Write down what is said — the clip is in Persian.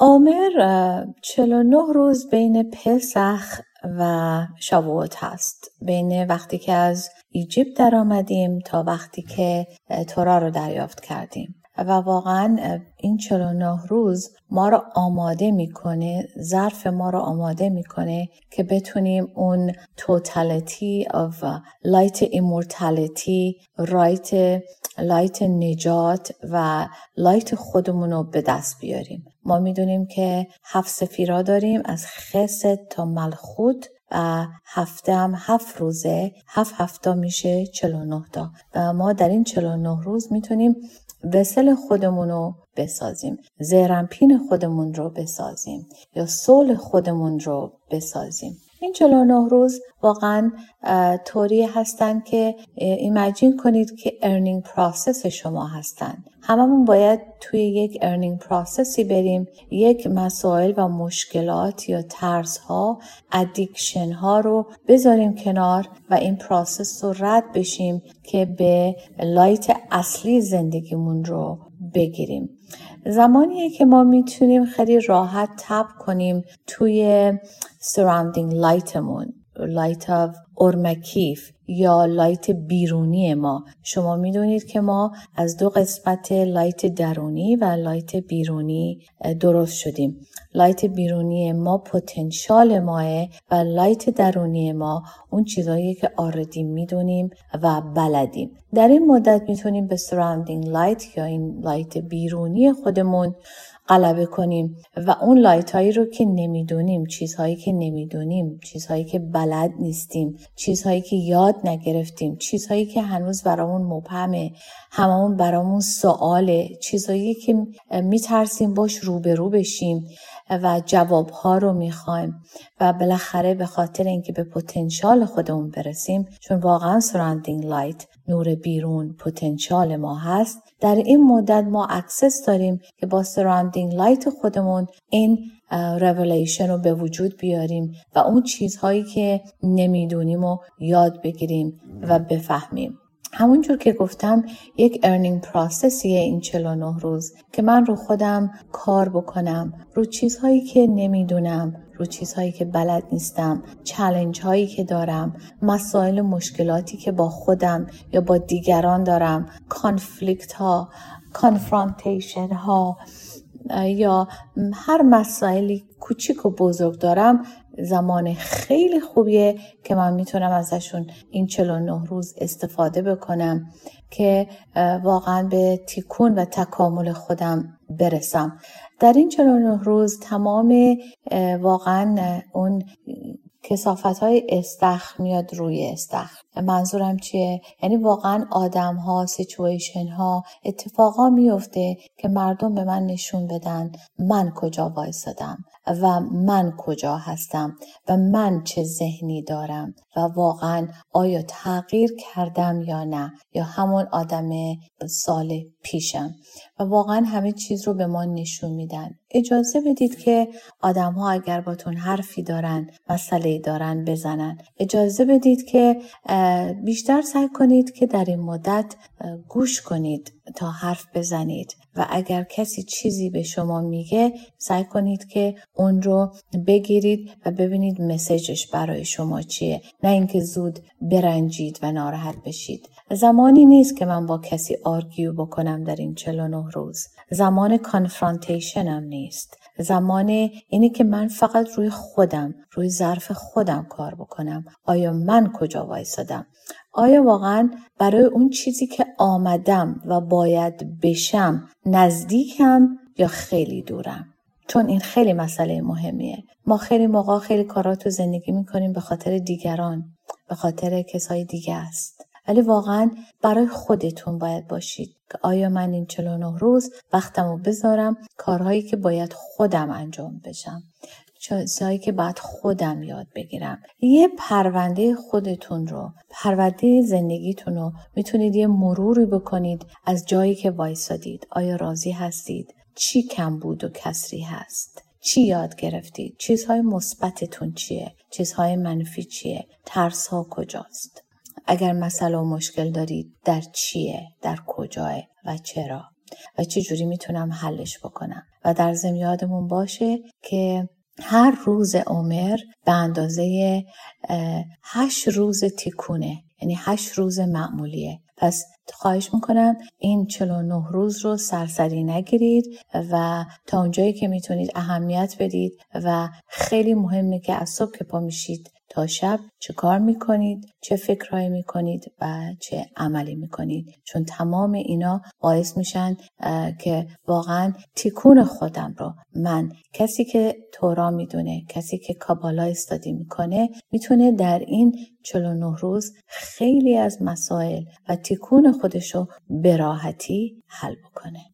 عامر 49 روز بین پسخ و شاووت هست، بین وقتی که از ایجیپت در آمدیم تا وقتی که تورا رو دریافت کردیم و واقعا این 49 روز ما رو آماده میکنه، ظرف ما رو آماده میکنه که بتونیم اون totality of light immortality، light نجات و light خودمون رو به دست بیاریم. ما میدونیم که 7 سفیرا داریم، از خست تا ملخوت و هفته هم 7 روزه، 7 هفته میشه 49 تا و ما در این 49 روز میتونیم وسل خودمون رو بسازیم، زیرمپین خودمون رو بسازیم یا سول خودمون رو بسازیم. این 49 روز واقعا طوری هستن که ایمیجین کنید که ارنینگ پروسس شما هستن. هممون باید توی یک ارنینگ پروسسی بریم، یک مسائل و مشکلات یا ترس‌ها، ادیکشن‌ها رو بذاریم کنار و این پروسس رو رد بشیم که به لایت اصلی زندگیمون رو بگیریم. زمانیه که ما میتونیم خیلی راحت تپ کنیم توی surrounding lightمون، light of اورمکیف یا لایت بیرونی ما. شما میدونید که ما از 2 قسمت لایت درونی و لایت بیرونی درست شدیم. لایت بیرونی ما پتانسیال ماه و لایت درونی ما اون چیزایی که آردی میدونیم و بلدیم. در این مدت میتونیم به surrounding light یا این لایت بیرونی خودمون غلبه کنیم و اون لایت هایی رو که نمیدونیم، چیزهایی که نمیدونیم، چیزهایی که بلد نیستیم، چیزهایی که یاد نگرفتیم، چیزهایی که هنوز برامون مبهمه، هممون برامون سواله، چیزهایی که میترسیم باش روبرو بشیم و جوابها رو میخوایم و بالاخره به خاطر اینکه به پتانسیال خودمون برسیم، چون واقعا surrounding light نور بیرون پتانسیال ما هست، در این مدت ما اکسس داریم که با surrounding light خودمون این revelation رو به وجود بیاریم و اون چیزهایی که نمیدونیم رو یاد بگیریم و بفهمیم. همونجور که گفتم یک ارنینگ پروسسیه این 49 روز که من رو خودم کار بکنم، رو چیزهایی که نمیدونم، رو چیزهایی که بلد نیستم، چالش هایی که دارم، مسائل مشکلاتی که با خودم یا با دیگران دارم، کانفلیکت ها، کانفرانتیشن ها یا هر مسائلی کوچیک و بزرگ دارم. زمان خیلی خوبیه که من میتونم ازشون این 49 روز استفاده بکنم که واقعا به تکون و تکامل خودم برسم. در این 49 روز تمام واقعا اون کثافت‌های استخر میاد روی استخر. منظورم چیه؟ یعنی واقعا آدم‌ها، سیچویشن‌ها، اتفاقا میفته که مردم به من نشون بدن من کجا وایسادم و من کجا هستم و من چه ذهنی دارم و واقعا آیا تغییر کردم یا نه، یا همون آدم سال پیشم. و واقعا همه چیز رو به ما نشون میدن. اجازه بدید که آدم‌ها اگر باتون حرفی دارن، مسئله‌ای دارن بزنن. اجازه بدید که بیشتر سعی کنید که در این مدت گوش کنید تا حرف بزنید و اگر کسی چیزی به شما میگه سعی کنید که اون رو بگیرید و ببینید مسیجش برای شما چیه، نه اینکه زود برنجید و ناراحت بشید. زمانی نیست که من با کسی آرگیو بکنم در این 49 روز. زمان کانفرانتیشن هم نیست. زمان اینه که من فقط روی خودم، روی ظرف خودم کار بکنم. آیا من کجا وایسادم؟ آیا واقعا برای اون چیزی که آمدم و باید بشم نزدیکم یا خیلی دورم؟ چون این خیلی مسئله مهمیه. ما خیلی موقع خیلی کارا تو زندگی میکنیم به خاطر دیگران، به خاطر کسای دیگه است. ولی واقعا برای خودتون باید باشید که آیا من این 49 روز وقتمو بذارم کارهایی که باید خودم انجام بشم، چیزهایی که باید خودم یاد بگیرم. یه پرونده خودتون رو، پرونده زندگیتون رو میتونید یه مروری بکنید از جایی که وایسادید. آیا راضی هستید؟ چی کم بود و کسری هست؟ چی یاد گرفتید؟ چیزهای مثبتتون چیه؟ چیزهای منفی چیه؟ ترس‌ها کجاست؟ اگر مسئله و مشکل دارید در چیه؟ در کجاه و چرا؟ و چه جوری میتونم حلش بکنم. و در ضمن یادمون باشه که هر روز عمر به اندازه 8 روز تیکونه، یعنی 8 روز معمولیه. پس خواهش میکنم این 49 روز رو سرسری نگیرید و تا اونجایی که میتونید اهمیت بدید و خیلی مهمه که از صبح که پا میشید تا شب چه کار میکنید، چه فکرهایی میکنید و چه عملی میکنید، چون تمام اینا باعث میشن که واقعا تیکون خودم رو من، کسی که تورا میدونه، کسی که کابالا استادی میکنه، میتونه در این 49 روز خیلی از مسائل و تیکون خودشو به راحتی حل بکنه.